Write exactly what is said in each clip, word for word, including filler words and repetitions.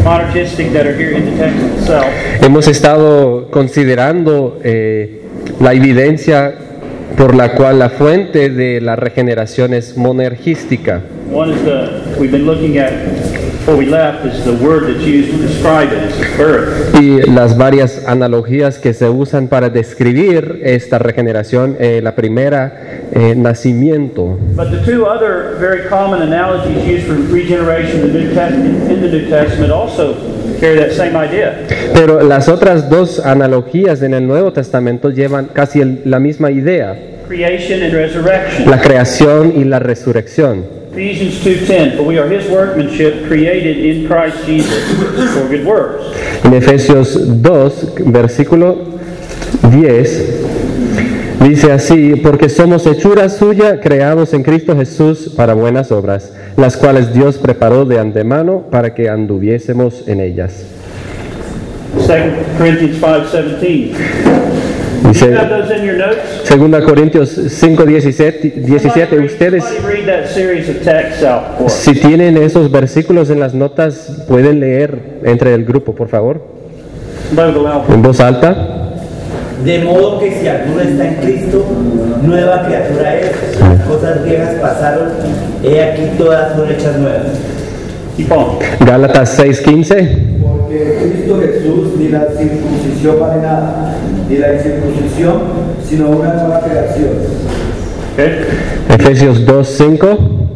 monergistic that are here in the text itself. Hemos estado considerando eh, la evidencia por la cual la fuente de la regeneración es monergística. One is the, we've been looking at, before we left, is the word that's used to describe it, is birth. Y las varias analogías que se usan para describir esta regeneración, eh, la primera, eh, nacimiento. But the two other very common analogies used for regeneration in the New Testament, in the New Testament also carry that same idea. Pero las otras dos analogías en el Nuevo Testamento llevan casi el, la misma idea, Creation and resurrection. la creación y la resurrección. Ephesians two ten, for we are his workmanship created in Christ Jesus for good works. En Efesios dos, versículo diez, dice así: porque somos hechura suya, creados en Cristo Jesús para buenas obras, las cuales Dios preparó de antemano para que anduviésemos en ellas. Second Corinthians five seventeen. Dice, You have those in your notes? segunda Corintios cinco, diecisiete, diecisiete, ustedes, Somebody read that series of texts out for us. si tienen esos versículos en las notas, pueden leer entre el grupo, por favor, Loud, loud. en voz alta. De modo que si alguno está en Cristo, nueva criatura es. Las cosas viejas pasaron, he aquí todas son hechas nuevas. Keep on. Gálatas seis, quince. Porque en Cristo Jesús ni la circuncisión vale nada, ni la incircuncisión, sino una nueva creación. Okay. Efesios dos, cinco.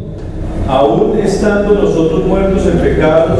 Aún estando nosotros muertos en pecados,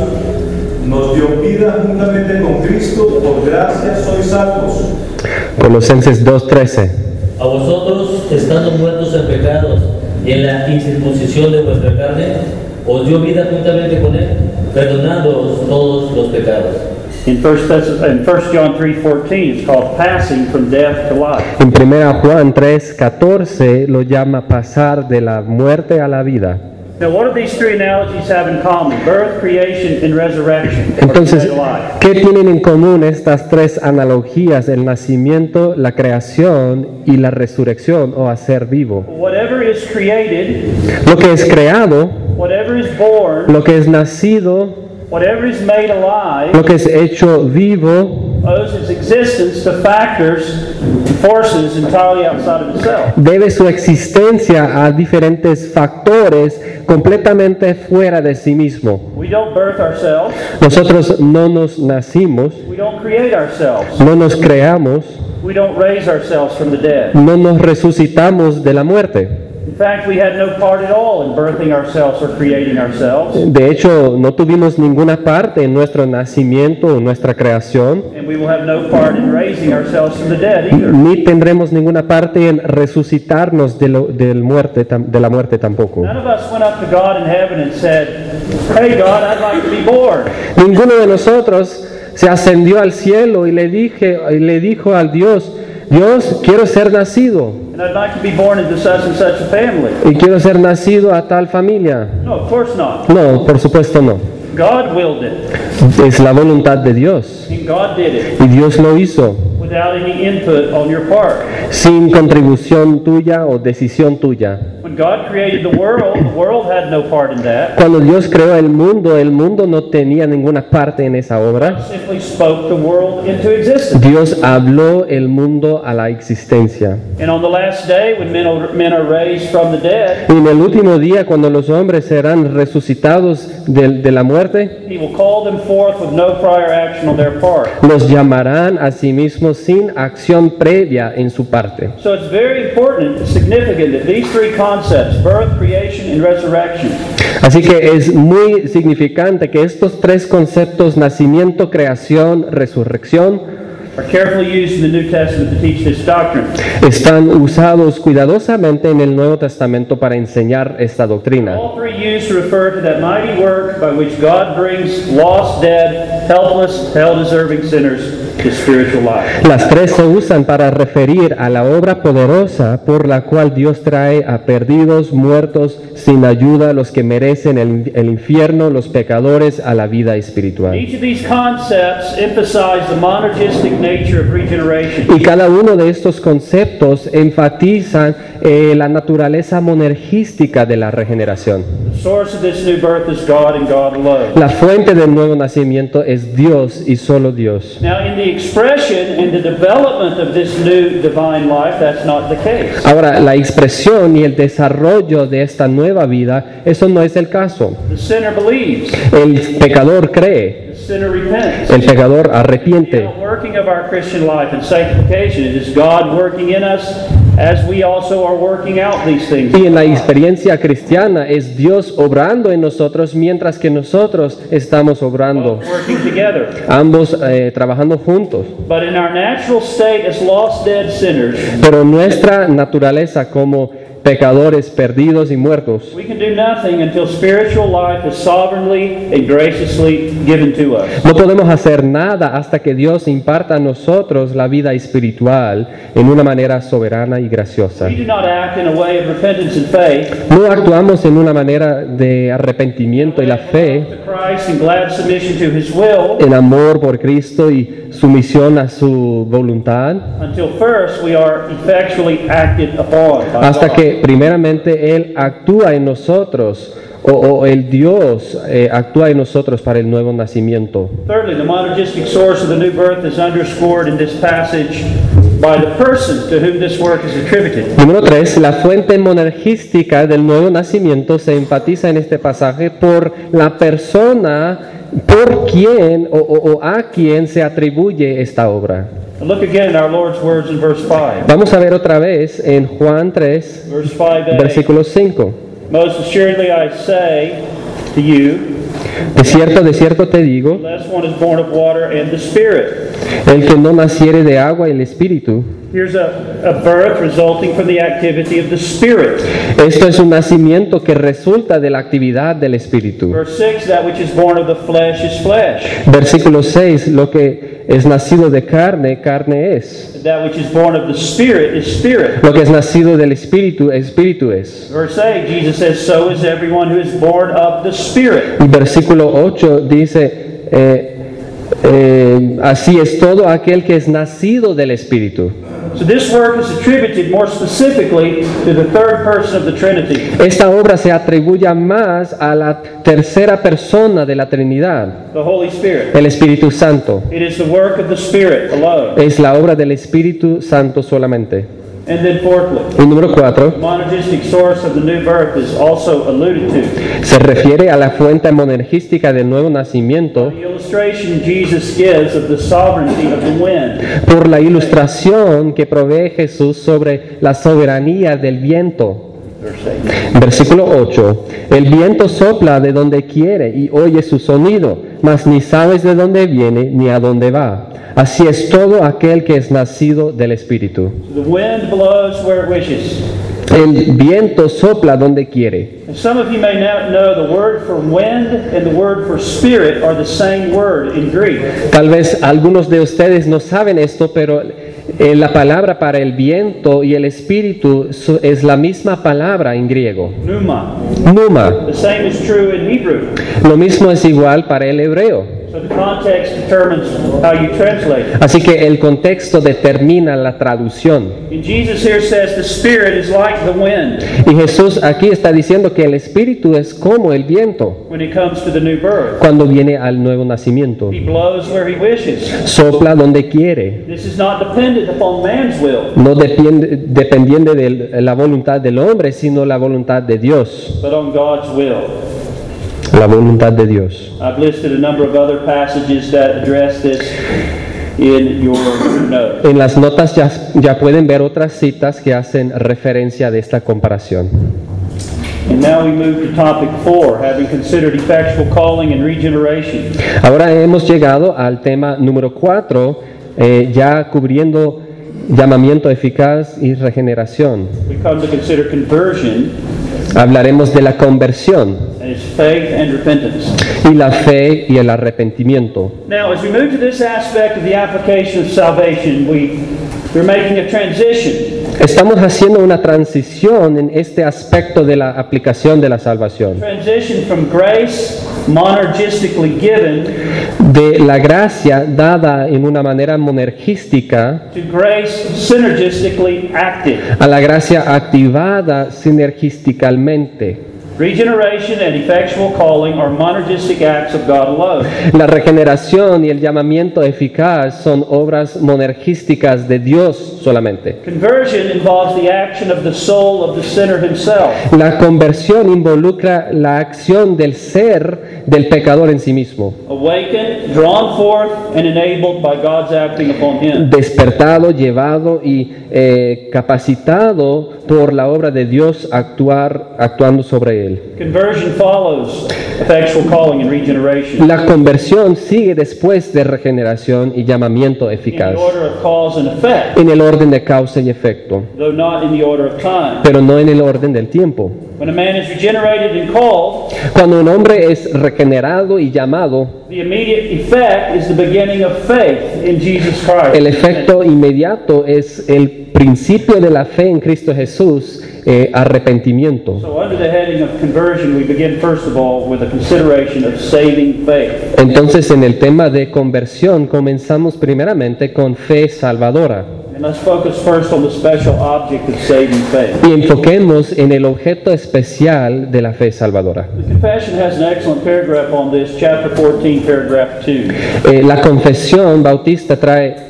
nos dio vida juntamente con Cristo, por gracia sois salvos. Colosenses dos, trece. A vosotros, estando muertos en pecados y en la incircuncisión de vuestra carne, os dio vida juntamente con él, perdonándoos todos los pecados. In First Thess- in First John three fourteen, it's called passing from death to life. En primera Juan tres, catorce lo llama pasar de la muerte a la vida. Now, what do these three analogies have in common? Birth, creation, and resurrection. Entonces, Or life. ¿qué tienen en común estas tres analogías? El nacimiento, la creación y la resurrección o hacer vivo. Whatever is created, Lo que es creado, whatever is born, lo que es nacido, whatever is made alive, lo que es hecho vivo, owes its existence to factors, forces entirely outside of itself. debe su existencia a diferentes factores completamente fuera de sí mismo. We don't birth ourselves. Nosotros no nos nacimos, We don't create ourselves. no nos creamos, We don't raise ourselves from the dead. no nos resucitamos de la muerte. In fact, we had no part at all in birthing ourselves or creating ourselves. De hecho, no tuvimos ninguna parte en nuestro nacimiento o nuestra creación, And we will have no part in raising ourselves from the dead either. ni tendremos ninguna parte en resucitarnos de, lo- del muerte, tam- de la muerte tampoco. None of us went up to God in heaven and said, hey God, I'd like to be born. Ninguno de nosotros se ascendió al cielo y le, dije, y le dijo al Dios: Dios, quiero ser nacido And I'd like to be born into such and such a family. y quiero ser nacido a tal familia. No, of course not. No, por supuesto no. God willed it. Es la voluntad de Dios And God did it y Dios lo hizo without any input on your part. sin contribución tuya o decisión tuya. When God created the world, the world had no part in that. Cuando Dios creó el mundo, el mundo no tenía ninguna parte en esa obra. God simply spoke the world into existence. Dios habló el mundo a la existencia. And on the last day, when men are, men are raised from the dead, Y en el último día, cuando los hombres serán resucitados de, de la muerte, He will call them forth with no prior action on their part. los llamarán a sí mismos sin acción previa en su parte. So it's very important and significant that these three concepts, birth, creation, and resurrection, Así que es muy significante que estos tres conceptos, nacimiento, creación, resurrección, are carefully used in the New Testament to teach this doctrine. están usados cuidadosamente en el Nuevo Testamento para enseñar esta doctrina. All three used to refer to that mighty work by which God brings lost, dead, helpless, hell-deserving sinners to spiritual life. Las tres se usan para referir a la obra poderosa por la cual Dios trae a perdidos, muertos, sin ayuda, los que merecen el, el infierno, los pecadores, a la vida espiritual. Each of these concepts emphasize the monergistic nature of regeneration. Y cada uno de estos conceptos enfatizan eh, la naturaleza monergística de la regeneración. The source of this new birth is God and God alone. La fuente del nuevo nacimiento es Dios y solo Dios. Now, in the expression and the development of this new divine life, that's not the case. Ahora, la expresión y el desarrollo de esta nueva vida, eso no es el caso. The sinner believes. El pecador cree, The sinner repents. el pecador In the arrepiente. working of our Christian life and sanctification, it is God working in us as we also are working out these things. Y en la experiencia cristiana es Dios obrando en nosotros mientras que nosotros estamos obrando, Both working together. ambos eh, trabajando juntos. But in our natural state as lost, dead sinners, Pero nuestra naturaleza como pecadores perdidos y muertos, we can do nothing until spiritual life is sovereignly and graciously given to us. no podemos hacer nada hasta que Dios imparta a nosotros la vida espiritual en una manera soberana y graciosa. We do not act in a way of repentance and faith. No actuamos en una manera de arrepentimiento y la fe, To Christ and glad submission to His will en amor por Cristo y sumisión a su voluntad, until first we are effectually acted upon by hasta God. que primeramente Él actúa en nosotros, o, o el Dios eh, actúa en nosotros para el nuevo nacimiento. Thirdly, the monergistic source of the new birth is underscored in this passage by the person to whom this work is attributed. Número tres, la fuente monergística del nuevo nacimiento se enfatiza en este pasaje por la persona por quien o, o- o a quien se atribuye esta obra. And look again at our Lord's words in verse five. Vamos a ver otra vez en Juan tres, Verse five a. versículo cinco. Most assuredly I say to you, De cierto, de cierto te digo, unless one is born of water and the Spirit. el que no naciere de agua y el Espíritu. Here's a, a birth resulting from the activity of the Spirit. Esto es un nacimiento que resulta de la actividad del Espíritu. Verse six, that which is born of the flesh is flesh. Versículo seis, lo que es nacido de carne, carne es. That which is born of the Spirit is spirit. Lo que es nacido del Espíritu, Espíritu es. Verse eight, Jesus says, so is everyone who is born of the Spirit. Y versículo ocho dice, eh, eh, así es todo aquel que es nacido del Espíritu. So this work is attributed more specifically to the third person of the Trinity. Esta obra se atribuye más a la tercera persona de la Trinidad, The Holy Spirit. el Espíritu Santo. It is the work of the Spirit alone. Es la obra del Espíritu Santo solamente. And then fourthly, Y número cuatro, the monergistic source of the new birth is also alluded to. se refiere a la fuente monergística del nuevo nacimiento The illustration Jesus gives of the sovereignty of the wind. por la ilustración que provee Jesús sobre la soberanía del viento. Verse eight. Versículo ocho. El viento sopla de donde quiere y oye su sonido, mas ni sabes de dónde viene ni a dónde va. Así es todo aquel que es nacido del Espíritu. The wind blows where it wishes. El viento sopla donde quiere. And some of you may now know the word for wind and the word for spirit are the same word in Greek. Tal vez algunos de ustedes no saben esto, pero eh, la palabra para el viento y el espíritu so- es la misma palabra en griego. Pneuma. Numa. The same is true in Hebrew. Lo mismo es igual para el hebreo. So the context determines how you translate it. Así que el contexto determina la traducción. And Jesus here says the spirit is like the wind Y Jesús aquí está diciendo que el espíritu es como el viento when it comes to the new birth. cuando viene al nuevo nacimiento. He blows where he wishes. Sopla donde quiere. This is not dependent upon man's will, No depende, dependiente de la voluntad del hombre, sino la voluntad de Dios. but on God's will. La voluntad de Dios. I've listed a number of other passages that address this in your notes. En las notas ya, ya pueden ver otras citas que hacen referencia de esta comparación. And now we move to topic four, having considered effectual calling and regeneration. Ahora hemos llegado al tema número cuatro, eh, ya cubriendo llamamiento eficaz y regeneración. We come to consider conversion Hablaremos de la conversión and it's faith and repentance. y la fe y el arrepentimiento. Now, as we move to this aspect of the application of salvation, we, we're making a transition. Estamos haciendo una transición en este aspecto de la aplicación de la salvación. Transition from grace monergistically given De la gracia dada en una manera monergística to grace synergistically acted. a la gracia activada sinergisticalmente. Regeneration and effectual calling are monergistic acts of God alone. La regeneración y el llamamiento eficaz son obras monergísticas de Dios solamente. Conversion involves the action of the soul of the sinner himself. La conversión involucra la acción del ser del pecador en sí mismo, Awakened, drawn forth, and enabled by God's acting upon him. despertado, llevado y eh, capacitado por la obra de Dios actuar, actuando sobre él. Conversion follows effectual calling and regeneration La conversión sigue después de regeneración y llamamiento in eficaz, the order of cause and effect, en el orden de causa y efecto, though not in the order of time. pero no en el orden del tiempo. When a man is regenerated and called, Cuando un hombre es regenerado y llamado, the immediate effect is the beginning of faith in Jesus Christ. el efecto inmediato es el principio de la fe en Cristo Jesús, eh, arrepentimiento. So under the heading of conversion, we begin first of all with a consideration of saving faith. Entonces, en el tema de conversión comenzamos primeramente con fe salvadora And let's focus first on the special object of saving faith. y enfoquemos en el objeto especial de la fe salvadora. The confession has an excellent paragraph on this, chapter fourteen, paragraph two. Eh, la confesión bautista trae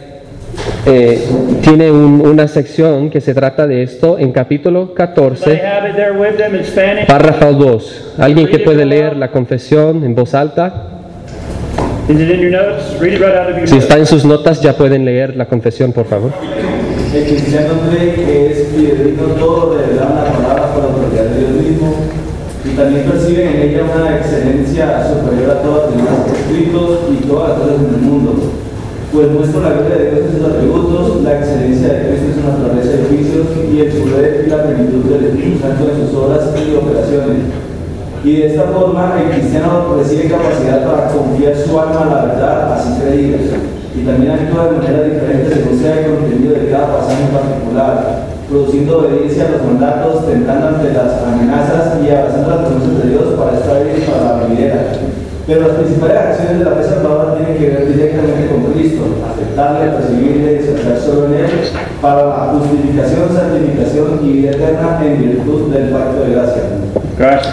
eh, tiene un- una sección que se trata de esto en capítulo They catorce, have it there with them in Spanish. párrafo dos. ¿Alguien que puede leer la confesión en voz alta? Is it in your notes? Read it right out of your Si notes. está en sus notas, ya pueden leer la confesión, por favor. El cristiano cree que es fidedigno todo de revelar la palabra por la autoridad de Dios mismo y también percibe en ella una excelencia superior a todos los demás escritos y todas las cosas en el mundo. Pues muestra la gloria de Dios en sus atributos, la excelencia de Cristo en su naturaleza y oficios y el poder y la plenitud del Espíritu Santo en sus obras y operaciones. Y de esta forma el cristiano recibe capacidad para confiar su alma a la verdad así creída. Y también actúa de manera diferente según sea el contenido de cada pasaje en particular, produciendo obediencia a los mandatos, tentando ante las amenazas y abrazando las promesas de Dios para esta vida y para la venidera. Pero las principales acciones de la fe salvadora tienen que ver directamente con Cristo, aceptarle, recibirle y descansar solo en Él para la justificación, santificación y vida eterna en virtud del pacto de gracia. Gracias.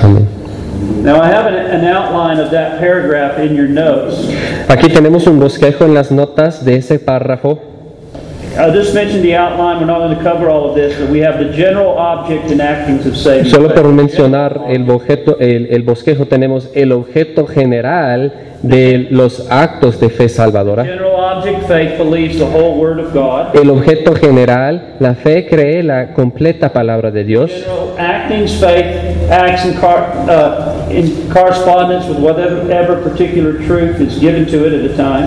Now I have an, an outline of that paragraph in your notes. Aquí tenemos un bosquejo en las notas de ese párrafo. I'll just mention the outline. We're not going to cover all of this, but we have the general object and actings of saving Solo por faith. mencionar el, objeto, el, el bosquejo tenemos el objeto general de los actos de fe salvadora. General object, faith believes the whole Word of God. El objeto general, la fe cree la completa palabra de Dios. General actings, faith acts in, car, uh, in correspondence with whatever particular truth is given to it at a time.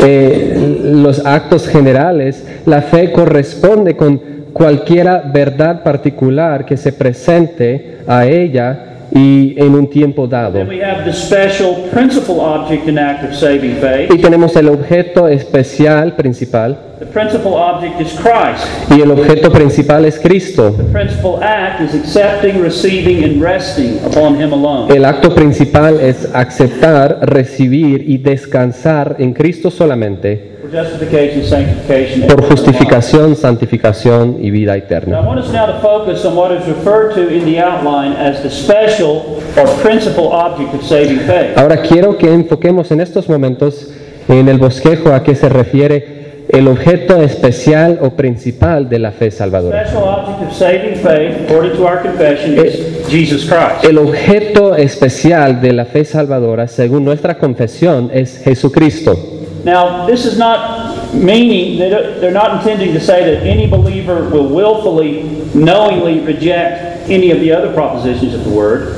Eh, los actos generales, la fe corresponde con cualquiera verdad particular que se presente a ella y en un tiempo dado. Then we have the special principal object and act of saving faith. Y tenemos el objeto especial principal, The principal object is Christ. y el objeto principal es Cristo. The principal act is accepting, receiving, and resting upon Him alone. El acto principal es aceptar, recibir y descansar en Cristo solamente, For justification, sanctification, and por eternal life. justificación, santificación y vida Now, I eterna. want us now to focus on what is referred to in the outline as the special or principal object of saving faith. Ahora quiero que enfoquemos en estos momentos en el bosquejo a qué se refiere el objeto especial o principal de la fe salvadora. Special object of saving faith, according to our confession, is Jesus Christ. El objeto especial de la fe salvadora, según nuestra confesión, es Jesucristo. Now, this is not meaning, they don't- they're not intending to say that any believer will willfully, knowingly reject any of the other propositions of the Word.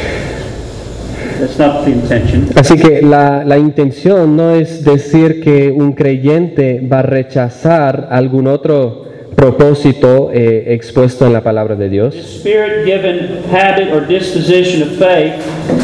That's not the intention. Así que la, la intención no es decir que un creyente va a rechazar algún otro propósito eh, expuesto en la palabra de This Dios. spirit-given habit or disposition of faith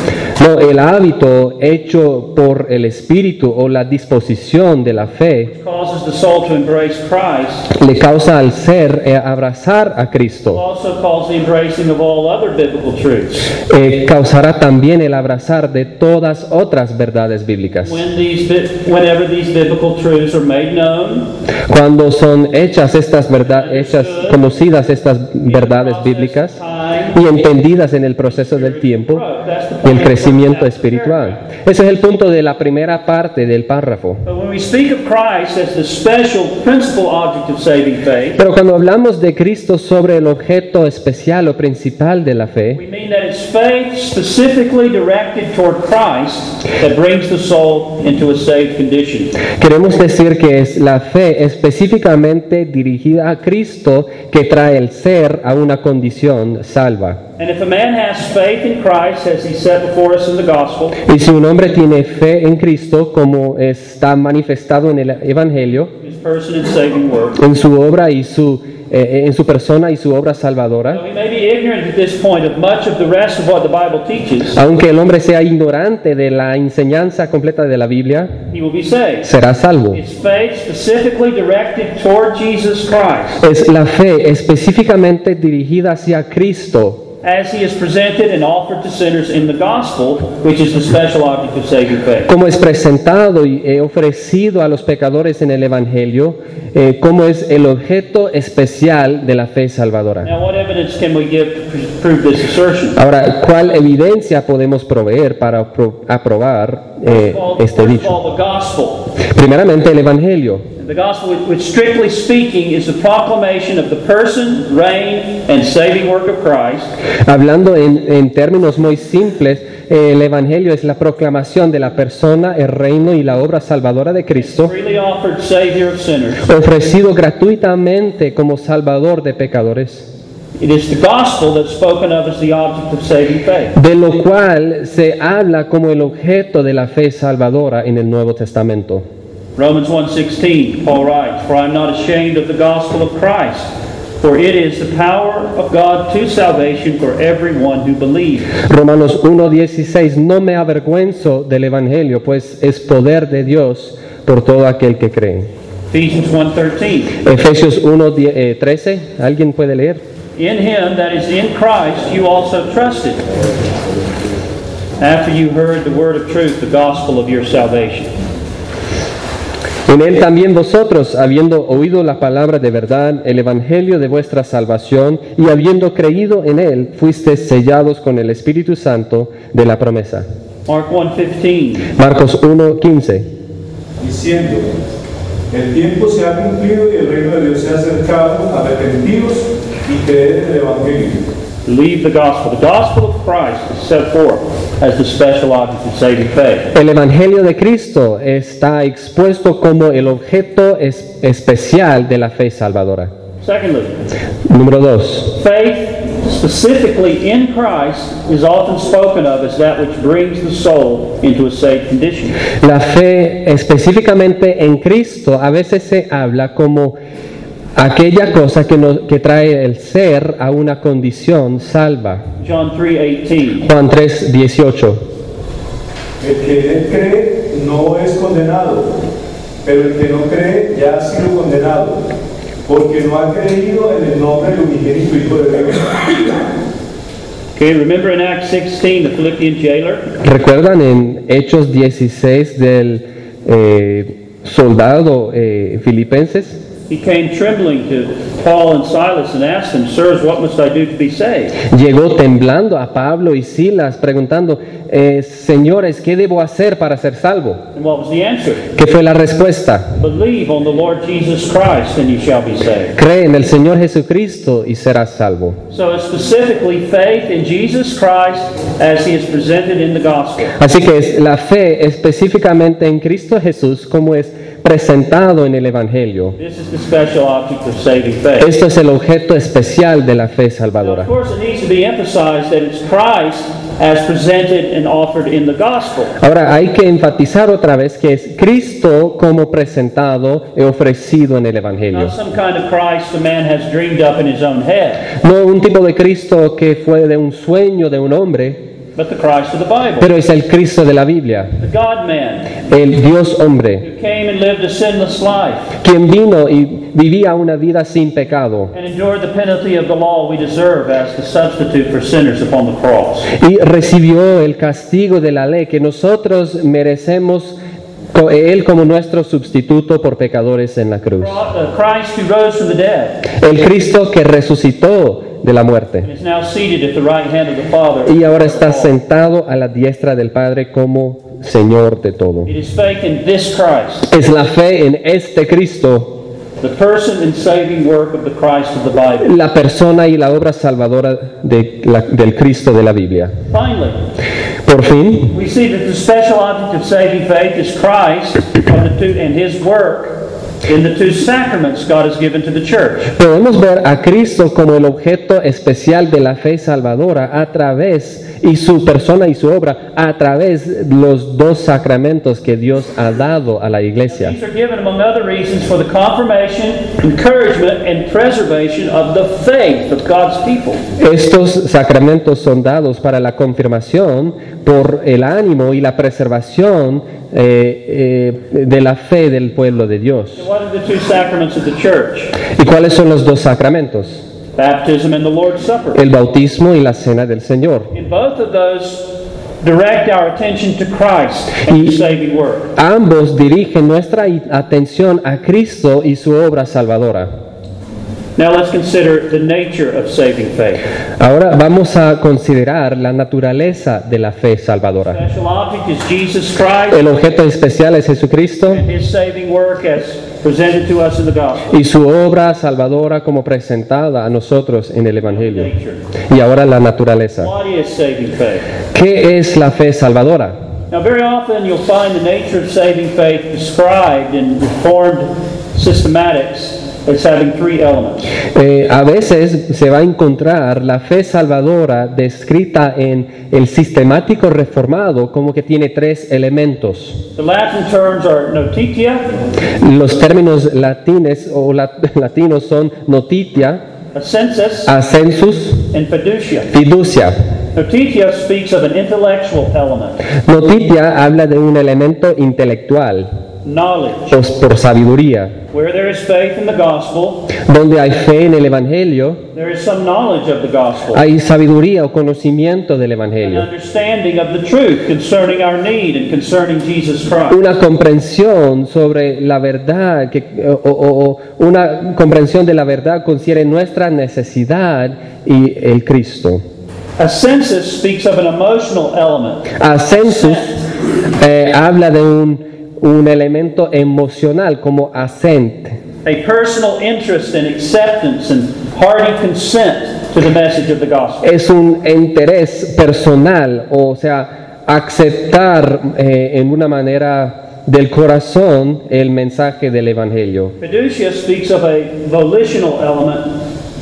No, el hábito hecho por el espíritu o la disposición de la fe causes the soul to embrace Christ, le causa al ser eh, abrazar a Cristo. also calls the embracing of all other biblical truths. Eh, causará también el abrazar de todas otras verdades bíblicas. When these, bi- whenever these biblical truths are made known, Cuando son hechas estas verdades, hechas conocidas estas verdades bíblicas y entendidas en el proceso del tiempo y el crecimiento espiritual. Ese es el punto de la primera parte del párrafo. but when we speak of Christ as the special principal object of saving faith, Pero cuando hablamos de Cristo sobre el objeto especial o principal de la we fe, mean that it's faith specifically directed toward Christ that brings the soul into a saved condition. queremos decir que es la fe específicamente dirigida a Cristo que trae el ser a una condición salva. And if a man has faith in Christ as he set before us in the gospel, Y si un hombre tiene fe en Cristo, como está manifestado en el Evangelio, his person and saving work, en su obra y su eh, en su persona y su obra salvadora, though he may be ignorant at this point of much of the rest of what the Bible teaches, aunque el hombre sea ignorante de la enseñanza completa de la Biblia, he will be saved. será salvo. It's faith specifically directed toward Jesus Christ Es la fe específicamente dirigida hacia Cristo, as he is presented and offered to sinners in the gospel, which is the special object of saving faith. como es presentado y eh, ofrecido a los pecadores en el Evangelio, eh, como es el objeto especial de la fe salvadora. Now, what evidence can we give to pr- prove this assertion? Ahora, ¿cuál evidencia podemos proveer para apro- aprobar eh, Well, este first of dicho? all, the gospel. Primeramente, el Evangelio. The gospel, which- which strictly speaking is the proclamation of the person, reign, and saving work of Christ, Hablando en, en términos muy simples, eh, el Evangelio es la proclamación de la persona, el reino y la obra salvadora de Cristo, freely offered Savior of sinners. ofrecido gratuitamente como salvador de pecadores, It is the gospel that's spoken of as the object of saving faith. de lo cual se habla como el objeto de la fe salvadora en el Nuevo Testamento. Romans one sixteen, Paul writes, "For I am not ashamed of the gospel of Christ, for it is the power of God to salvation for everyone who believes." Romanos uno dieciséis, no me avergüenzo del Evangelio, pues es poder de Dios por todo aquel que cree. Ephesians one thirteen, Efesios uno trece, ¿alguien puede leer? "In him, that is in Christ, you also trusted, after you heard the word of truth, the gospel of your salvation." En él también vosotros, habiendo oído la palabra de verdad, el evangelio de vuestra salvación, y habiendo creído en él, fuisteis sellados con el Espíritu Santo de la promesa. Mark one fifteen, Marcos uno quince. diciendo, el tiempo se ha cumplido y el reino de Dios se ha acercado, arrepentidos y creed en el Evangelio. believe the gospel. The gospel of Christ is set forth as the special object of saving faith. El evangelio de Cristo está expuesto como el objeto es- especial de la fe salvadora. Secondly, Número dos. faith specifically in Christ is often spoken of as that which brings the soul into a saved condition. La fe específicamente en Cristo a veces se habla como aquella cosa que, nos, que trae el ser a una condición salva. John three eighteen. Juan tres dieciocho. El que en él cree no es condenado, pero el que no cree ya ha sido condenado, porque no ha creído en el nombre del unigénito Hijo de Dios. Okay, remember in Acts sixteen, the Philippian jailer? ¿Recuerdan en Hechos dieciséis del eh, soldado eh, filipenses? He came trembling to Paul and Silas and asked them, "Sirs, what must I do to be saved?" Llegó temblando a Pablo y Silas preguntando, eh, señores, ¿qué debo hacer para ser salvo? And what was the answer? ¿Qué fue la respuesta? Believe on the Lord Jesus Christ and you shall be saved. Cree en el Señor Jesucristo y serás salvo. So it's specifically faith in Jesus Christ as he is presented in the gospel. Así que es la fe específicamente en Cristo Jesús como es presentado en el Evangelio. This is the special object of saving faith. faith. Esto es el objeto especial de la fe Now, of salvadora. course, it needs to be emphasized that it's Christ as presented and offered in the gospel. Ahora hay que enfatizar otra vez que es Cristo como presentado y ofrecido en el Evangelio. Not some kind of Christ the man has dreamed up in his own head, No un tipo de Cristo que fue de un sueño de un hombre, but the Christ of the Bible, pero es el Cristo de la Biblia, the God-man, el Dios hombre, who came and lived a sinless life quien vino y vivía una vida sin pecado and endured the penalty of the law we deserve as the substitute for sinners upon the cross. y recibió el castigo de la ley que nosotros merecemos, co- Él como nuestro sustituto por pecadores en la cruz. Uh, Christ who rose from the dead El Cristo que resucitó de la muerte and is now seated at the right hand of the Father. y ahora está sentado a la diestra del Padre como Señor de todo. It is faith in this Christ, Es la fe en este Cristo, the person and saving work of the Christ of the Bible. la persona y la obra salvadora de la- del Cristo de la Biblia. Finally, Por fin, we see that the special object of saving faith is Christ of the two, and His work in the two sacraments God has given to the church. podemos ver a Cristo como el objeto especial de la fe salvadora a través, y su persona y su obra, a través de los dos sacramentos que Dios ha dado a la iglesia. These are given, among other reasons, for the confirmation, encouragement, and preservation of the faith of God's people. Estos sacramentos son dados para la confirmación, por el ánimo y la preservación eh, eh, de la fe del pueblo de Dios. What are the two sacraments of the church? ¿Y cuáles son los dos sacramentos? Baptism and the Lord's Supper. El bautismo y la cena del Señor. In both of those, direct our attention to Christ and His saving work. Ambos dirigen nuestra atención a Cristo y su obra salvadora. Now let's consider the nature of saving faith. Ahora vamos a considerar la naturaleza de la fe salvadora. Special object is Jesus Christ El objeto especial es Jesucristo and His saving work as presented to us in the gospel. y su obra salvadora como presentada a nosotros en el Evangelio. Nature. Y ahora la naturaleza. What is saving faith? ¿Qué es la fe salvadora? Now, very often you'll find the nature of saving faith described in Reformed systematics as having three elements. Eh, a veces se va a encontrar la fe salvadora descrita en el sistemático reformado como que tiene tres elementos. The Latin terms are notitia, Los términos latines o lat- latinos son notitia, ascensus, ascensus, and fiducia. fiducia. Notitia speaks of an intellectual element, Notitia habla de un elemento intelectual, knowledge. o por sabiduría. Where there is faith in the gospel, Donde hay fe en el Evangelio, there is some knowledge of the gospel, hay sabiduría o conocimiento del an Evangelio. understanding of the truth concerning our need and concerning Jesus Christ. Una comprensión sobre la verdad, que, o, o- o una comprensión de la verdad considera nuestra necesidad y el Cristo. Ascensus speaks of an emotional element, Ascensus eh, habla de un, un elemento emocional como ascent, a personal interest and acceptance and hearty consent to the message of the gospel. es un interés personal, o sea, aceptar eh, en una manera del corazón el mensaje del Evangelio. Fiducia speaks of a volitional element,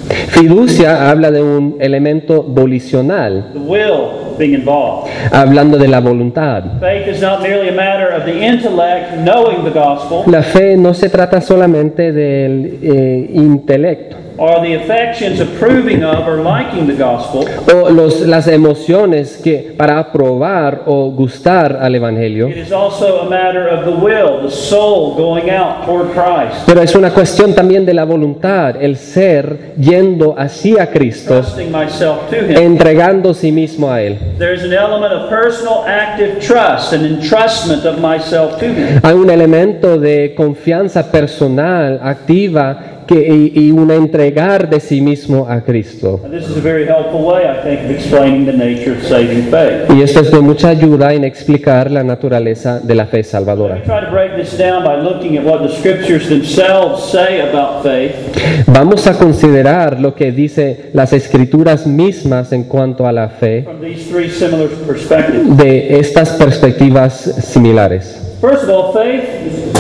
Fiducia habla de un elemento volicional, the will being involved. hablando de la voluntad. Faith is not merely a matter of the intellect knowing the gospel La fe no se trata solamente del eh, intelecto or the affections approving of or liking the gospel. o los, las emociones que para aprobar o gustar al Evangelio, It is also a matter of the will, the soul going out toward Christ, pero es una cuestión también de la voluntad, el ser yendo hacia Cristo, trusting myself to Him. entregando sí mismo a Él. There is an element of personal active trust and entrustment of myself to Him. Hay un elemento de confianza personal, activa, que, y, y un entregar de sí mismo a Cristo. And this is a very helpful way, I think, of explaining the nature of saving faith. Y esto es de mucha ayuda en explicar la naturaleza de la fe Let salvadora. me try to break this down by looking at what the scriptures themselves say about faith, Vamos a considerar lo que dice las escrituras mismas en cuanto a la fe from these three similar perspectives. de estas perspectivas similares. First of all, faith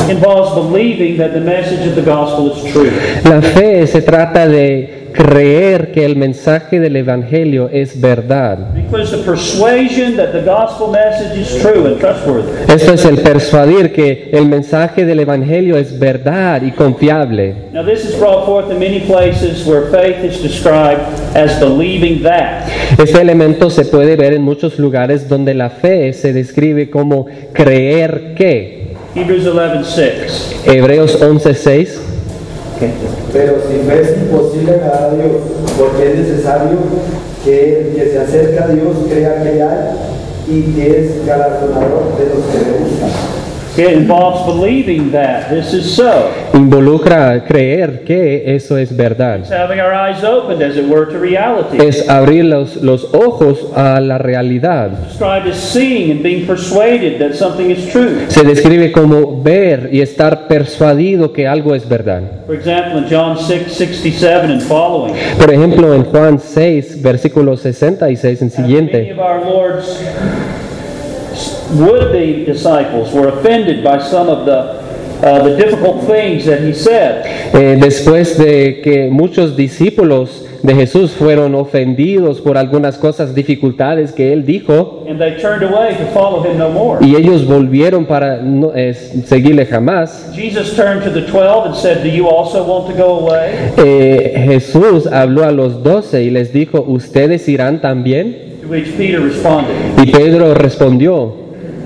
involves believing that the message of the gospel is true. La fe se trata de creer que el mensaje del Evangelio es verdad. It includes the persuasion that the gospel message is true and trustworthy. Esto es el persuadir que el mensaje del Evangelio es verdad y confiable. Now, this is brought forth in many places where faith is described as believing that. Este elemento se puede ver en muchos lugares donde la fe se describe como creer que. Hebrews eleven six. Hebreos once seis. Pero sin fe es imposible agradar a Dios, porque es necesario que el que se acerca a Dios crea que hay y que es galardonador de los que le buscan. It involves believing that this is so. Involucra creer que eso es verdad. It's having our eyes opened, as it were, to reality. Es abrir los, los ojos a la realidad. Described as seeing and being persuaded that something is true. Se describe como ver y estar persuadido que algo es verdad. For example, in John six sixty-seven and following. Por ejemplo, en Juan seis, versículo sesenta y seis en Many siguiente. of our Lord's would-be disciples were offended by some of the uh, the difficult things that he said. Eh, después de que muchos discípulos de Jesús fueron ofendidos por algunas cosas, dificultades que él dijo, And they turned away to follow him no more. y ellos volvieron para no, eh, seguirle jamás. Jesus turned to the twelve and said, "Do you also want to go away?" Eh, Jesús habló a los doce y les dijo, ¿ustedes irán también? To which Peter responded, Y Pedro respondió,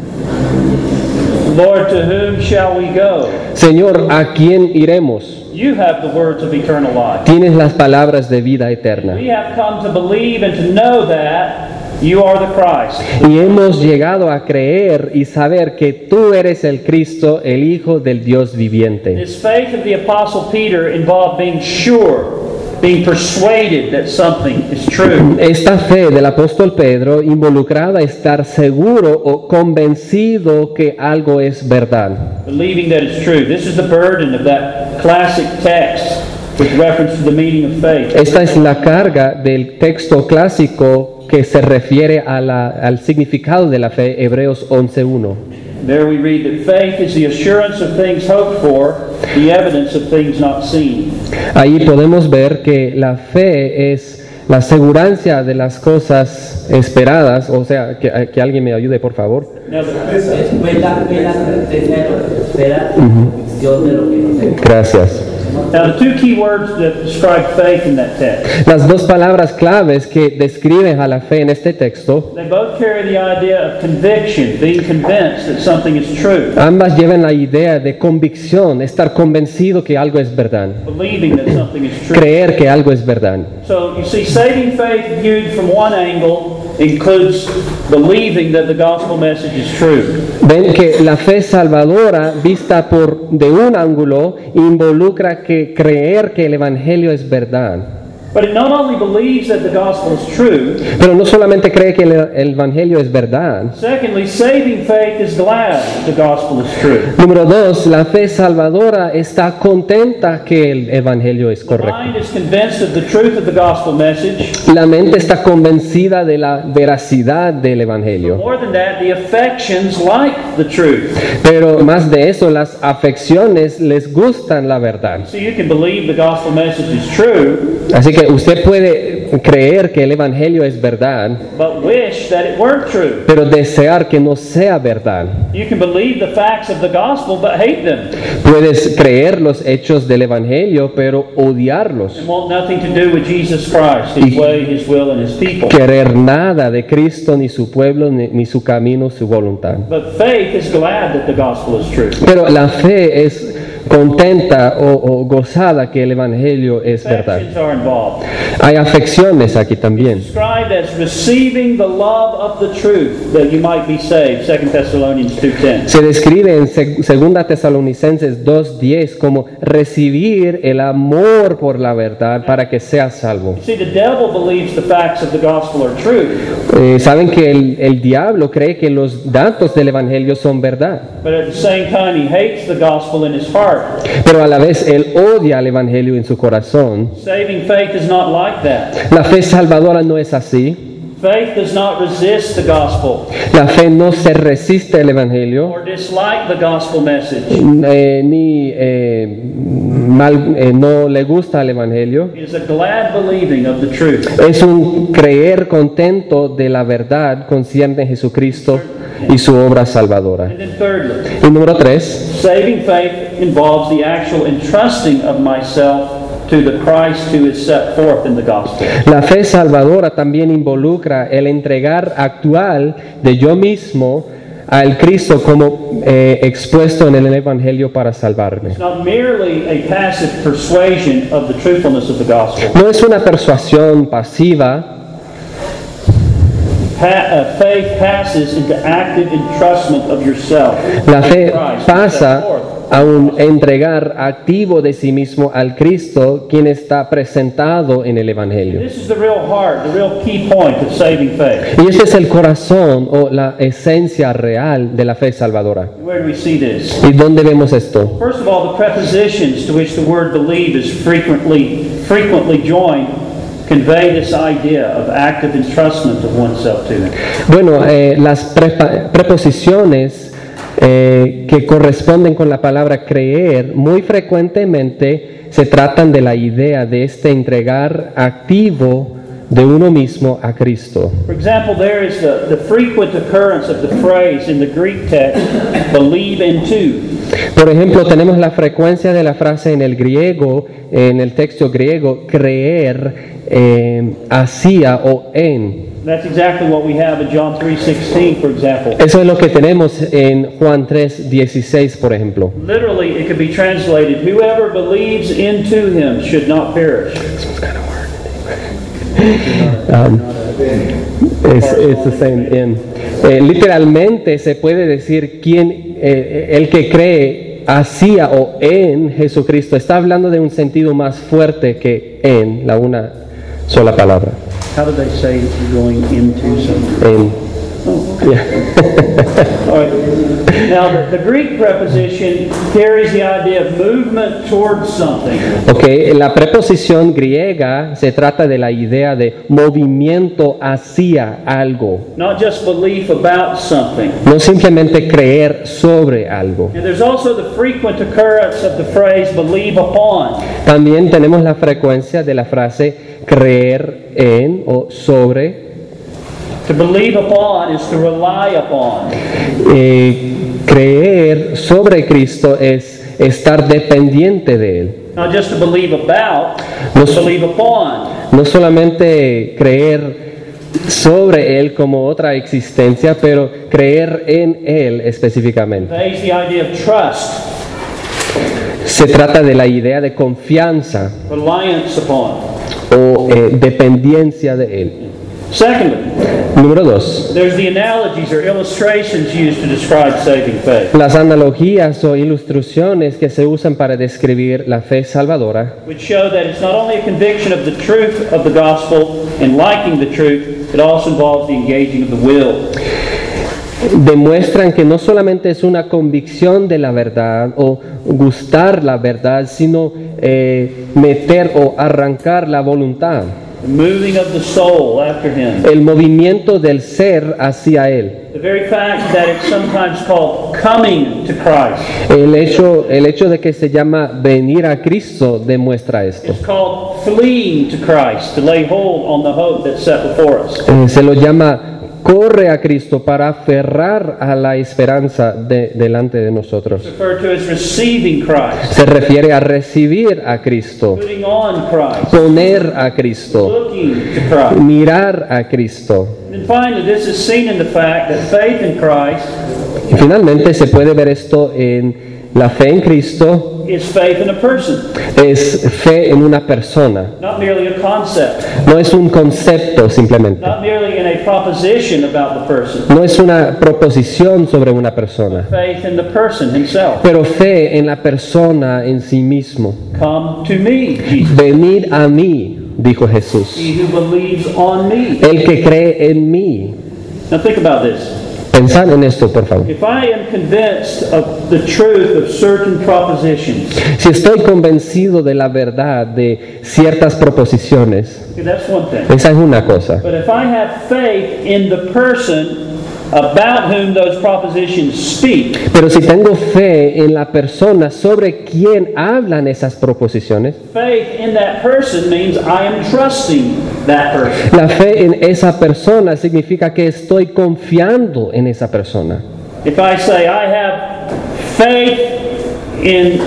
"Lord, to whom shall we go? Señor, ¿a quién iremos? You have the words of eternal life. Tienes las palabras de vida eterna. We have come to believe and to know that you are the Christ." Y hemos llegado a creer y saber que tú eres el Cristo, el Hijo del Dios viviente. This faith of the Apostle Peter involved being sure, being persuaded that something is true. Esta fe del apóstol Pedro involucraba estar seguro o convencido que algo es verdad. Believing that it's true. This is the burden of that classic text with reference to the meaning of faith. Esta es la carga del texto clásico que se refiere a la- al significado de la fe, Hebreos once uno. There we read that faith is the assurance of things hoped for, the evidence of things not seen. Ahí podemos ver que la fe es la asegurancia de las cosas esperadas, o sea, que, que alguien me ayude por favor. Now, the, Es fe la fe la certeza, espera, convicción de lo que no se. Gracias. now the two key words that describe faith in that text, Las dos palabras claves que describen a la fe en este texto, they both carry the idea of conviction, being convinced that something is true, ambas llevan la idea de convicción, estar convencido que algo es verdad, believing that something is true. creer que algo es verdad. So you see, saving faith viewed from one angle includes believing that the gospel message is true. Ven que la fe salvadora, vista por de un ángulo, involucra que creer que el evangelio es verdad. But it not only believes that the gospel is true, Pero no solamente cree que el, el evangelio es verdad. secondly, saving faith is glad the gospel is true. Número dos, la fe salvadora está contenta que el evangelio es The correcto. mind is convinced of the truth of the gospel message. La mente está convencida de la veracidad del evangelio. More than that, the affections like the truth. Pero más de eso, las afecciones les gustan la verdad. So you can believe the gospel message is true, Así que usted puede creer que el evangelio es verdad, but wish that it weren't true. pero desear que no sea verdad. You can believe the facts of the gospel, but hate them, Puedes creer los hechos del evangelio, pero odiarlos. and want nothing to do with Jesus Christ, His way, His will, and His people. Querer nada de Cristo, ni su pueblo, ni, ni su camino, su voluntad. But faith is glad that the gospel is true. Pero la fe es contenta o, o gozada que el evangelio es verdad. Affections are involved. Hay afecciones aquí también. Described as receiving the love of the truth that you might be saved, Second Thessalonians two ten. Se describe en seg- segunda Tesalonicenses dos diez como recibir el amor por la verdad para que seas salvo. See, the devil believes the facts of the gospel are true, Eh, Saben que el, el diablo cree que los datos del evangelio son verdad, but at the same time he hates the gospel in his heart. pero a la vez él odia el evangelio en su corazón. Saving faith is not like that. La fe salvadora no es así. Faith does not resist the gospel La fe no se resiste al Evangelio, or dislike the gospel message. eh, ni eh, mal, eh, no le gusta al Evangelio. It is a glad believing of the truth. Es un creer contento de la verdad concierne a Jesucristo y su obra salvadora. And then thirdly, Y número tres, saving faith involves the actual entrusting of myself to the Christ who is set forth in the gospel. la fe salvadora también involucra el entregar actual de yo mismo al Cristo como eh, expuesto en el Evangelio para salvarme. It's not merely a passive persuasion of the truthfulness of the gospel. No es una persuasión pasiva. Pa- uh, faith passes into active entrustment of yourself. La to fe Christ, pasa set forth. a un entregar activo de sí mismo al Cristo, quien está presentado en el Evangelio. This is the real heart, the real key point of saving faith. Y ese es el corazón o la esencia real de la fe salvadora. Where do we see this? ¿Y dónde vemos esto? First of all, the prepositions to which the word believe is frequently frequently joined convey this idea of active entrustment of oneself to Him. Bueno, eh, las prepa- preposiciones eh, que corresponden con la palabra creer muy frecuentemente se tratan de la idea de este entregar activo de uno mismo a Cristo. For example, there is the, the frequent occurrence of the phrase in the Greek text, believe into. Por ejemplo, tenemos la frecuencia de la frase en el griego, en el texto griego, creer eh, hacia o en. That's exactly what we have in John three sixteen, for example. Eso es lo que tenemos en Juan tres dieciséis, por ejemplo. Literally, it could be translated, whoever believes into Him should not perish. Um, it's, it's the same in. Eh, literalmente se puede decir quien, eh, el que cree hacia o en Jesucristo. Está hablando de un sentido más fuerte que en, la una sola palabra. How do they say going into something? En. Yeah. All right. Now, the, the Greek preposition carries the idea of movement towards something. Okay, la preposición griega se trata de la idea de movimiento hacia algo, Not just belief about something. no simplemente creer sobre algo. And there's also the frequent occurrence of the phrase believe upon. También tenemos la frecuencia de la frase creer en o sobre. To believe upon is to rely upon. Eh, creer sobre Cristo es estar dependiente de Él. Not just to believe about, No, but to believe upon. no solamente creer sobre Él como otra existencia, pero creer en Él específicamente. Conveys the idea of trust, Se trata de la idea de confianza reliance upon. o eh, dependencia de Él. Secondly, Número dos. there's the analogies or illustrations used to describe saving faith, Las analogías o ilustraciones que se usan para describir la fe salvadora which show that it's not only a conviction of the truth of the gospel and liking the truth, it also involves the engaging of the will. demuestran que no solamente es una convicción de la verdad o gustar la verdad, sino eh, meter o arrancar la voluntad, The moving of the soul after Him. el movimiento del ser hacia Él. The very fact that it's sometimes called coming to Christ. El hecho, el hecho de que se llama venir a Cristo demuestra esto. It's called fleeing to Christ, to lay hold on the hope that's set before us. Eh, se lo llama corre a Cristo para aferrar a la esperanza de- delante de nosotros. It's referred to as receiving Christ, Se refiere a recibir a Cristo, putting on Christ, poner a Cristo, looking to Christ. mirar a Cristo. And finally, this is seen in the fact that faith in Christ Y finalmente se puede ver esto en la fe en Cristo, is faith in a person, es fe en una persona, not merely a concept, no es un concepto simplemente, not merely in a proposition about the person, no es una proposición sobre una persona, faith in the person himself. pero fe en la persona en sí mismo. Come to me, Jesus, Venid a mí, dijo Jesús, he who believes on me. el que cree en mí. Now think about this. Pensad en esto, por favor. If I am convinced of the truth of certain propositions, Si estoy convencido de la verdad de ciertas proposiciones, okay, that's one thing. esa es una cosa. But if I have faith in the person about whom those propositions speak, Pero si tengo fe en la persona sobre quien hablan esas proposiciones, faith in that person means I am trusting that person. la fe en esa persona significa que estoy confiando en esa persona. If I say I have faith in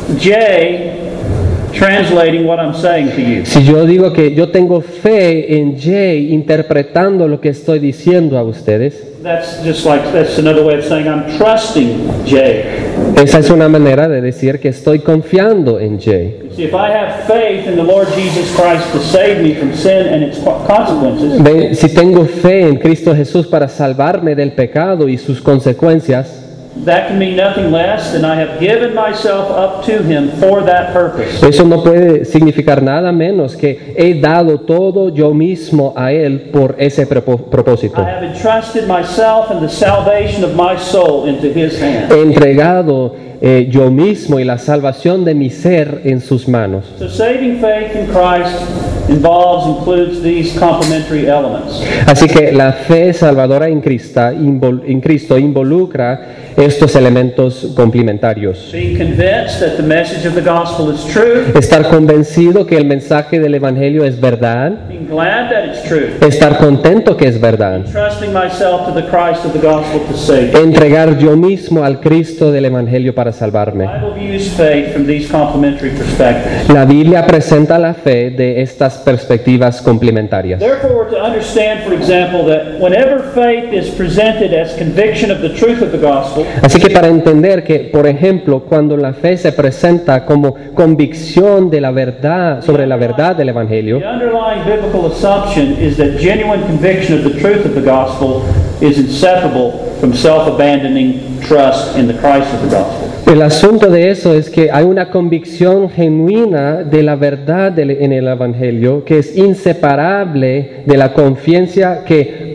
Jay translating what I'm saying to you, Si yo digo que yo tengo fe en Jay interpretando lo que estoy diciendo a ustedes, that's just like, that's another way of saying I'm trusting Jay. esa es una manera de decir que estoy confiando en Jay. See, if I have faith in the Lord Jesus Christ to save me from sin and its consequences, Ve, si tengo fe en Cristo Jesús para salvarme del pecado y sus consecuencias, that can mean nothing less than I have given myself up to Him for that purpose. eso no puede significar nada menos que he dado todo yo mismo a Él por ese prepo- propósito. I have entrusted myself and the salvation of my soul into His hands. He entregado eh, yo mismo y la salvación de mi ser en sus manos. So saving faith in Christ involves, includes these complementary elements. Así que la fe salvadora en Cristo, invol- en Cristo involucra estos elementos complementarios. Being convinced that the message of the gospel is true, Estar convencido que el mensaje del Evangelio es verdad, being glad that it's true, estar contento que es verdad, trusting myself to the Christ of the gospel to save me. entregar yo mismo al Cristo del Evangelio para The salvarme. Bible views faith from these complementary perspectives. La Biblia presenta la fe de estas perspectivas complementarias. Therefore, we're to understand, for example, that whenever faith is presented as conviction of the truth of the gospel, Así que para entender que, por ejemplo, cuando la fe se presenta como convicción de la verdad, sobre la verdad del Evangelio, the underlying biblical assumption is that genuine conviction of the truth of the gospel is inseparable from self-abandoning trust in the Christ of the gospel. el asunto de eso es que hay una convicción genuina de la verdad del- en el Evangelio que es inseparable de la confianza que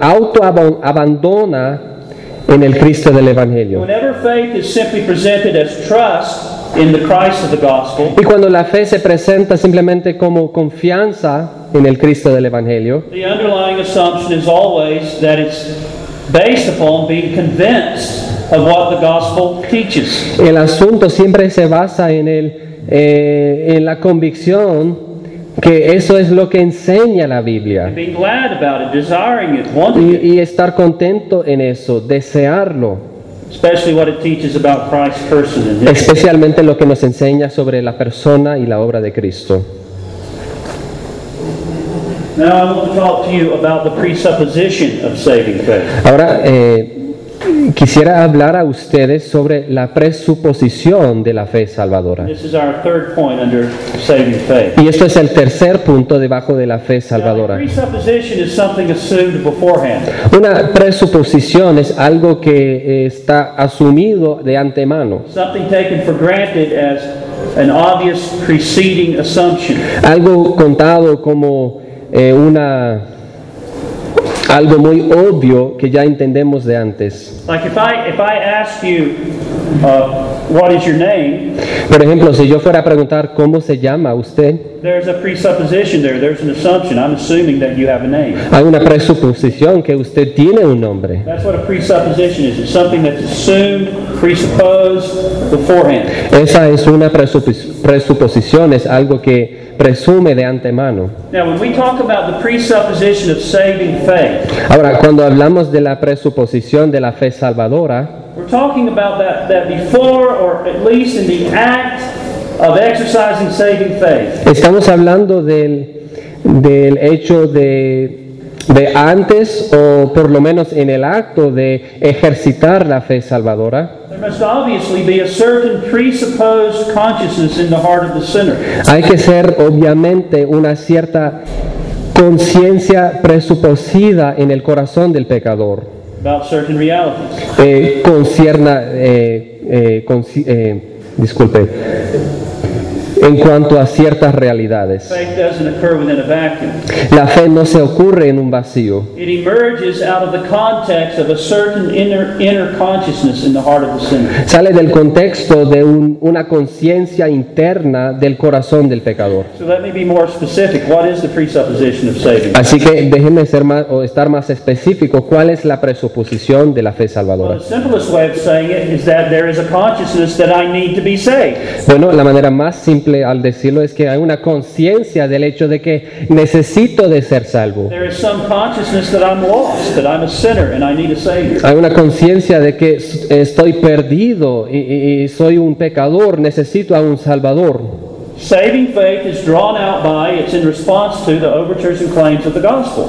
autoabandona en el Cristo del Evangelio. Whenever faith is simply presented as trust in the Christ of the gospel, Y cuando la fe se presenta simplemente como confianza en el Cristo del Evangelio, the underlying assumption is always that it's based upon being convinced of what the gospel teaches. el asunto siempre se basa en, el, eh, en la convicción que eso es lo que enseña la Biblia. Being glad about it, desiring it, wanting it, Y, y estar contento en eso, desearlo, especially what it teaches about Christ's person and His. especialmente lo que nos enseña sobre la persona y la obra de Cristo. Now I want to talk to you about the presupposition of saving faith. Ahora, eh, quisiera hablar a ustedes sobre la presuposición de la fe salvadora. This is our third point under saving faith. Y esto es el tercer punto debajo de la fe Now, salvadora. presupposition is something assumed beforehand. Una presuposición es algo que eh, está asumido de antemano, Something taken for granted as an obvious preceding assumption. algo contado como eh, una algo muy obvio que ya entendemos de antes. Like if I if I ask you, uh, what is your name? Por ejemplo, si yo fuera a preguntar cómo se llama usted, There's a presupposition there. There's an assumption. I'm assuming that you have a name. hay una presuposición que usted tiene un nombre. That's what a presupposition is. It's something that's assumed, presupposed beforehand. Esa es una presupos- presuposición, es algo que presume de antemano. Now, when we talk about the presupposition of saving faith, Ahora, cuando hablamos de la presuposición de la fe salvadora, we're talking about that, that before, or at least in the act of exercising saving faith. estamos hablando del, del hecho de, de antes o por lo menos en el acto de ejercitar la fe salvadora. There must obviously be a certain presupposed consciousness in the heart of the sinner. Hay que ser obviamente una cierta conciencia presuposida en el corazón del pecador, About certain realities. eh, concierna, eh, eh, conci- eh, disculpe, en cuanto a ciertas realidades. Faith doesn't occur within a vacuum. La fe no se ocurre en un vacío. It emerges out of the context of a certain inner, inner consciousness in the heart of the sinner. Sale del contexto de un- una conciencia interna del corazón del pecador. So let me be more specific. What is the presupposition of saving? Así que déjenme ser más, o estar más específico. ¿Cuál es la presuposición de la fe Well, salvadora? the simplest way of saying it is that there is a consciousness that I need to be saved. Bueno, la manera más simple al decirlo es que hay una conciencia del hecho de que necesito de ser salvo. There is some consciousness that I'm lost, that I'm a sinner and I need a Savior. Hay una conciencia de que s- estoy perdido y, y- y soy un pecador, necesito a un salvador. Saving faith is drawn out by, it's in response to the overtures and claims of the gospel.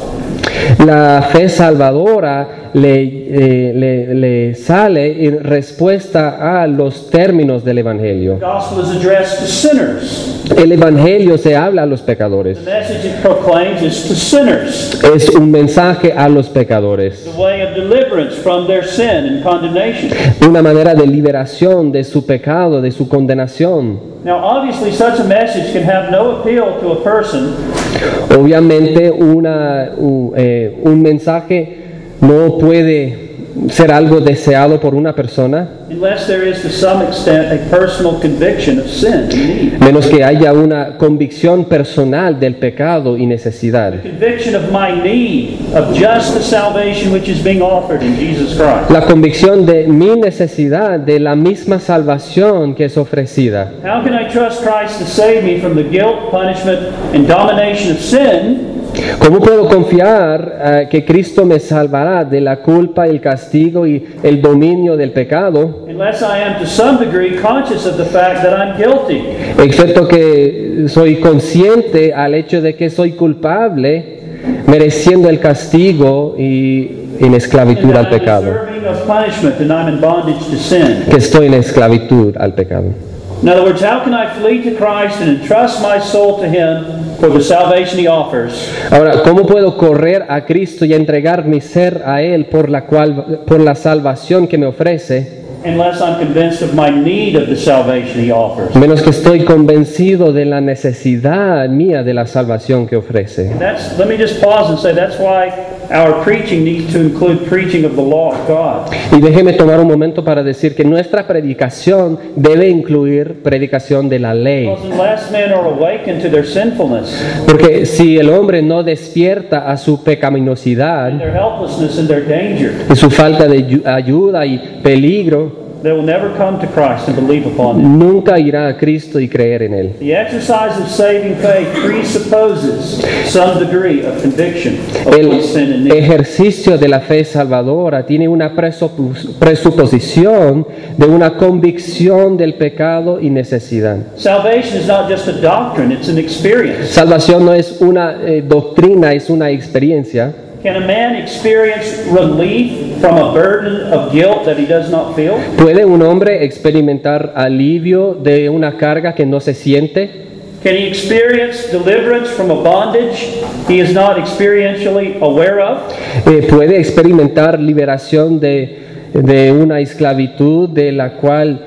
La fe salvadora le, eh, le- le sale en respuesta a los términos del Evangelio. The gospel is addressed to sinners. El Evangelio se habla a los pecadores. The message it proclaims is to sinners. Es un mensaje a los pecadores. The way of deliverance from their sin and condemnation. Una manera de liberación de su pecado, de su condenación. Now, obviously, such a message can have no appeal to a person Obviamente una, u- eh, un mensaje no puede ser algo deseado por una persona, unless there is to some extent a personal conviction of sin and need. menos que haya una convicción personal del pecado y necesidad. Conviction of my need of just the salvation which is being offered in Jesus Christ. La convicción de mi necesidad de la misma salvación que es ofrecida. How can I trust Christ to save me from the guilt, punishment, and domination of sin ¿Cómo puedo confiar eh, que Cristo me salvará de la culpa, el castigo y el dominio del pecado, unless I am to some degree conscious of the fact that I'm guilty? excepto que soy consciente al hecho de que soy culpable, mereciendo el castigo y en esclavitud And al that I'm pecado, deserving of punishment and I'm in bondage to sin? que estoy en esclavitud al pecado? In other words, how can I flee to Christ and entrust my soul to Him for the salvation He offers, Ahora, ¿cómo puedo correr a Cristo y entregar mi ser a Él por la cual, por la salvación que me ofrece, unless I'm convinced of my need of the salvation He offers? menos que estoy convencido de la necesidad mía de la salvación que ofrece? That's, let me just pause and say that's why our preaching needs to include preaching of the law of God. Y déjeme tomar un momento para decir que nuestra predicación debe incluir predicación de la ley. Because unless men are awakened to their sinfulness, Porque si el hombre no despierta a su pecaminosidad, their helplessness and their danger, y su falta de ayu- ayuda y peligro, they will never come to Christ and believe upon Him. nunca irá a Cristo y creer en Él. The exercise of saving faith presupposes some degree of conviction of El one's sin and need. ejercicio de la fe salvadora tiene una presupos- presuposición de una convicción del pecado y necesidad. Salvation is not just a doctrine, it's an experience. Salvación no es una eh, doctrina, es una experiencia. Can a man experience relief from a burden of guilt that he does not feel? ¿Puede un hombre experimentar alivio de una carga que no se siente? Can he experience deliverance from a bondage he is not experientially aware of? Eh, ¿Puede experimentar liberación de, de una esclavitud de la cual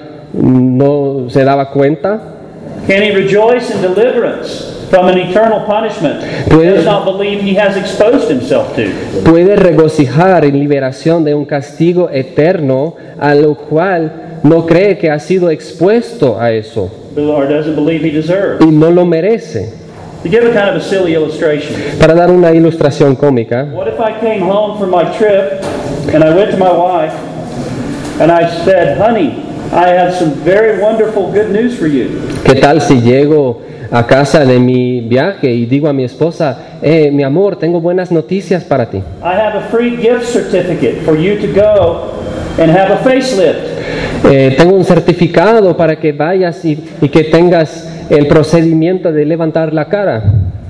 no se daba cuenta? Can he rejoice in deliverance from an eternal punishment he Puede- does not believe he has exposed himself to? ¿Puede regocijar en liberación de un castigo eterno a lo cual no cree que ha sido expuesto a eso Or doesn't believe he deserves? y no lo merece? To give a kind of a silly illustration, Para dar una ilustración cómica, what if I came home from my trip and I went to my wife and I said, honey, I have some very wonderful good news for you. ¿qué tal si llego a casa de mi viaje y digo a mi esposa, eh, mi amor, tengo buenas noticias para ti? I have a free gift certificate for you to go and have a facelift. Eh, tengo un certificado para que vayas y, y que tengas el procedimiento de levantar la cara.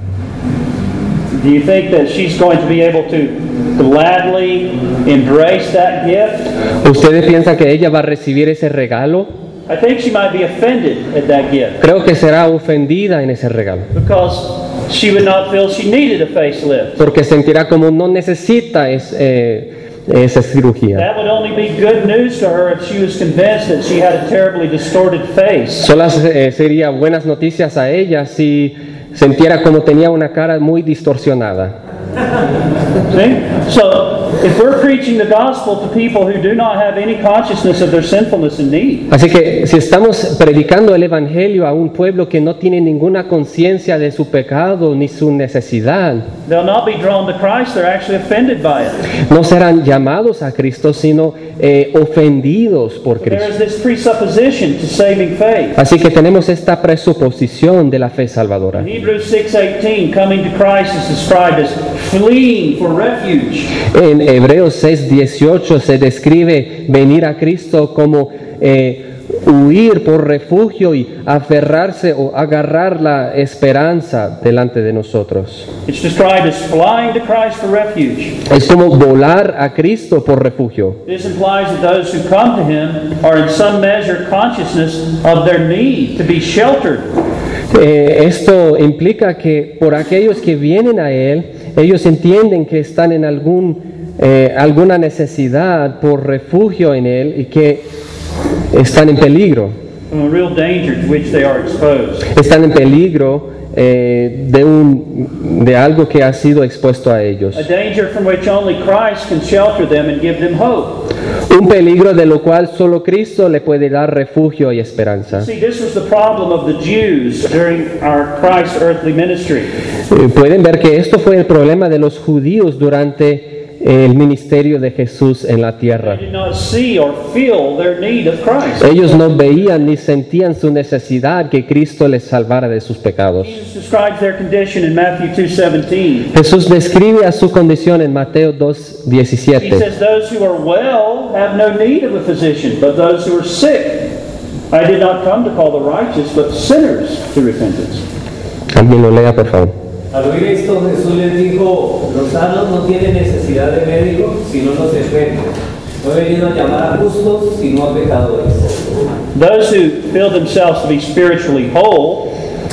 Do you think that she's going to be able to gladly embrace that gift? ¿Ustedes piensan que ella va a recibir ese regalo? I think she might be offended at that gift Creo que será ofendida en ese regalo, because she would not feel she needed a facelift. porque sentirá como no necesita es, eh, esa cirugía. That would only be good news to her if she was convinced that she had a terribly distorted face. Solo eh, sería buenas noticias a ella si sintiera como tenía una cara muy distorsionada. See? So, if we're preaching the gospel to people who do not have any consciousness of their sinfulness and need, Así que si estamos predicando el evangelio a un pueblo que no tiene ninguna conciencia de su pecado ni su necesidad, they'll not be drawn to Christ, they're actually offended by it. no serán llamados a Cristo, sino eh, ofendidos por There is Cristo. this presupposition to saving faith. Así que tenemos esta presuposición de la fe salvadora. In Hebrews six eighteen, coming to Christ is described as fleeing for refuge. En Hebreos seis dieciocho se describe venir a Cristo como eh, huir por refugio y aferrarse o agarrar la esperanza delante de nosotros. It's described as flying to Christ for refuge. Es como volar a Cristo por refugio. This implies that those who come to Him are in some measure consciousness of their need to be sheltered. Eh, esto implica que por aquellos que vienen a Él, ellos entienden que están en algún, eh, alguna necesidad por refugio en Él y que están en peligro. From a real danger to which they are exposed. Están en peligro eh, de, un, de algo que ha sido expuesto a ellos. A danger from which only Christ can shelter them and give them hope. Un peligro de lo cual solo Cristo le puede dar refugio y esperanza. See, this was the problem of the Jews during our Christ's earthly ministry. Eh, Pueden ver que esto fue el problema de los judíos durante el ministerio de Jesús en la They tierra. did not see or feel their need of Christ. Ellos no veían ni sentían su necesidad que Cristo les salvara de sus pecados. Jesus describes their condition in Matthew two seventeen. Jesús describe a su condición en Mateo dos He diecisiete. says, "Those who are well have no need of a physician, but those who are sick. I did not come to call the righteous, but sinners to repentance." Alguien lo lea, por favor. Al oír esto, Jesús les dijo, los sanos no tienen necesidad de médico, sino los enfermos. No he venido a llamar a justos, sino a pecadores. Those who feel themselves to be spiritually whole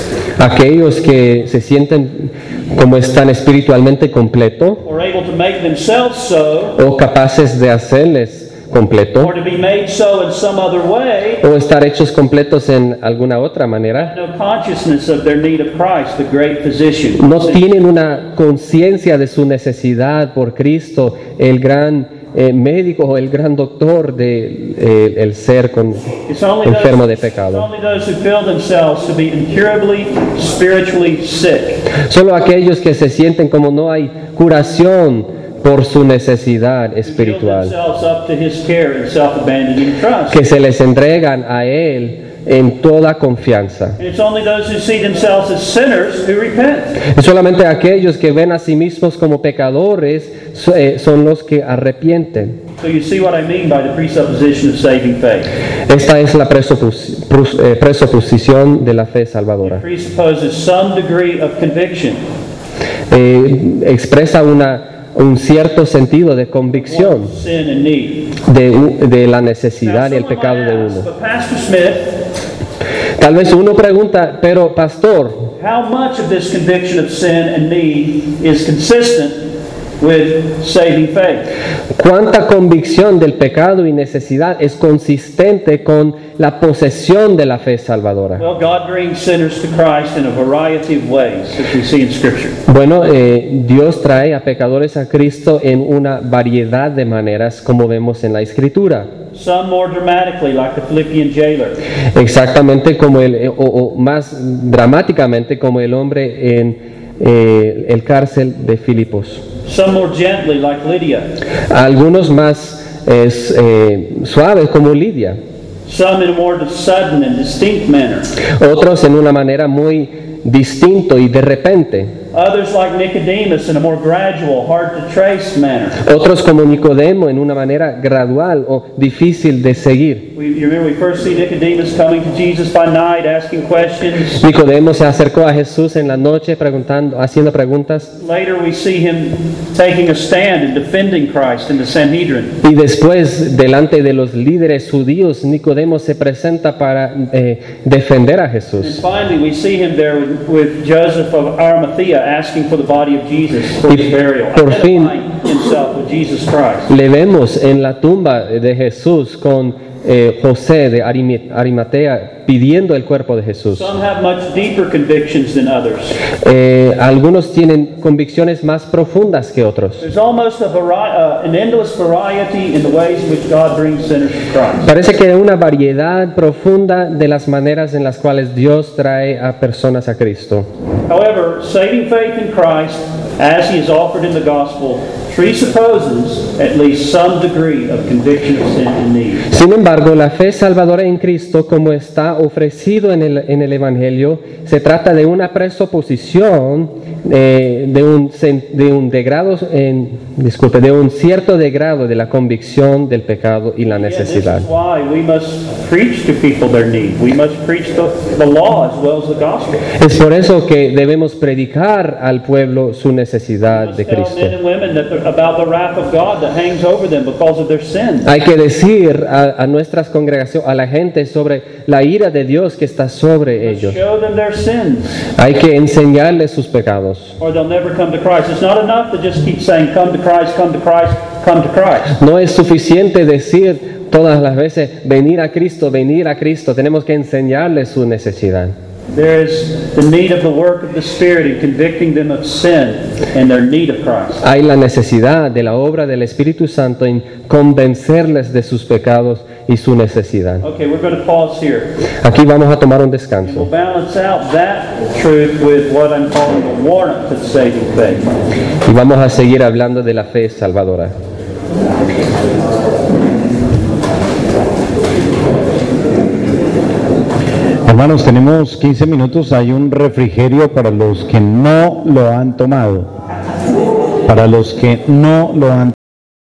Aquellos que se sienten como están espiritualmente completo or able to make themselves so, o capaces de hacerles completo or to be made so in some other way, o estar hechos completos en alguna otra manera, no consciousness of their need of Christ, the great physician. no tienen una conciencia de su necesidad por Cristo, el gran eh, médico o el gran doctor de eh, el ser con, It's only enfermo de those, it's pecado. only those who feel themselves to be incurably spiritually sick, Solo aquellos que se sienten como no hay curación por su necesidad who give espiritual, themselves up to His care and self-abandoning trust. que se les entregan a Él en toda confianza. And it's only those who see themselves as sinners who repent. Y solamente aquellos que ven a sí mismos como pecadores so- eh, son los que arrepienten. So you see what I mean by the presupposition of saving faith. Esta es la presupos- prus- eh, presuposición de la fe It salvadora. presupposes some degree of conviction, Eh, expresa una, un cierto sentido de convicción of sin and need. de, u- de la Now, necesidad y el someone pecado might de ask, uno. but Pastor Smith, Tal vez uno pregunta, pero pastor, how much of this conviction of sin and need is consistent with saving faith? ¿cuánta convicción del pecado y necesidad es consistente con la posesión de la fe salvadora? Well, God brings sinners to Christ in a variety of ways, as we see in Scripture. Bueno, eh, Dios trae a pecadores a Cristo en una variedad de maneras, como vemos en la Escritura. Some more dramatically, like the Philippian jailer. Exactamente como el, eh, o, o más dramáticamente como el hombre en eh, el cárcel de Filipos. Some more gently, like Lydia. Algunos más es, eh, suaves como Lidia. Some in a more sudden and distinct manner. Otros en una manera muy distinto y de repente. Others like Nicodemus in a more gradual, hard to trace manner. Otros como Nicodemo en una manera gradual o difícil de seguir. We, you remember we first see Nicodemus coming to Jesus by night, asking questions. Nicodemo se acercó a Jesús en la noche preguntando, haciendo preguntas. Later we see him taking a stand and defending Christ in the Sanhedrin. Y después, delante de los líderes judíos, Nicodemo se presenta para eh, defender a And Jesús. finally we see him there with, with Joseph of Arimathea asking for the body of Jesus for his Y burial, por fin- identifying himself with Jesus Christ. Le vemos en la tumba de Jesús con eh, José de Arimi- Arimatea pidiendo el cuerpo de Jesús. Some have much deeper convictions than others. Eh, algunos tienen convicciones más profundas que otros. There's almost a vari- uh, an endless variety in the ways in which God brings sinners to Christ. Parece que hay una variedad profunda de las maneras en las cuales Dios trae a personas a Cristo. However, saving faith in Christ, as He is offered in the gospel, presupposes at least some degree of conviction of sin and need. Sin embargo, la fe salvadora en Cristo, como está ofrecido en el, en el Evangelio, se trata de una presuposición eh, de un sen- de un degrado, en, disculpe, de un cierto degrado de la convicción del pecado y la Again, this necesidad. is why we must preach to people their need. We must preach the, the law as well as the gospel. Es por eso que debemos predicar al pueblo su We necesidad must de tell men Cristo. and women that they're- about the wrath of God that hangs over them because of their sin. Hay que decir a, a nuestras congregaciones, a la gente sobre la ira de Dios que está sobre ellos. Show them their sins, Hay que enseñarles sus pecados. or they'll never come to Christ. It's not enough to just keep saying, "Come to Christ, come to Christ, come to Christ." No es suficiente decir todas las veces, venir a Cristo, venir a Cristo. Tenemos que enseñarles su necesidad. There is the need of the work of the Spirit in convicting them of sin and their need of Christ. Hay la necesidad de la obra del Espíritu Santo en convencerles de sus pecados y su necesidad. Okay, we're going to pause here. Aquí vamos a tomar un And we'll descanso balance out that truth with what I'm calling the warrant to saving faith. y vamos a seguir hablando de la fe salvadora. Hermanos, tenemos quince minutos, hay un refrigerio para los que no lo han tomado, para los que no lo han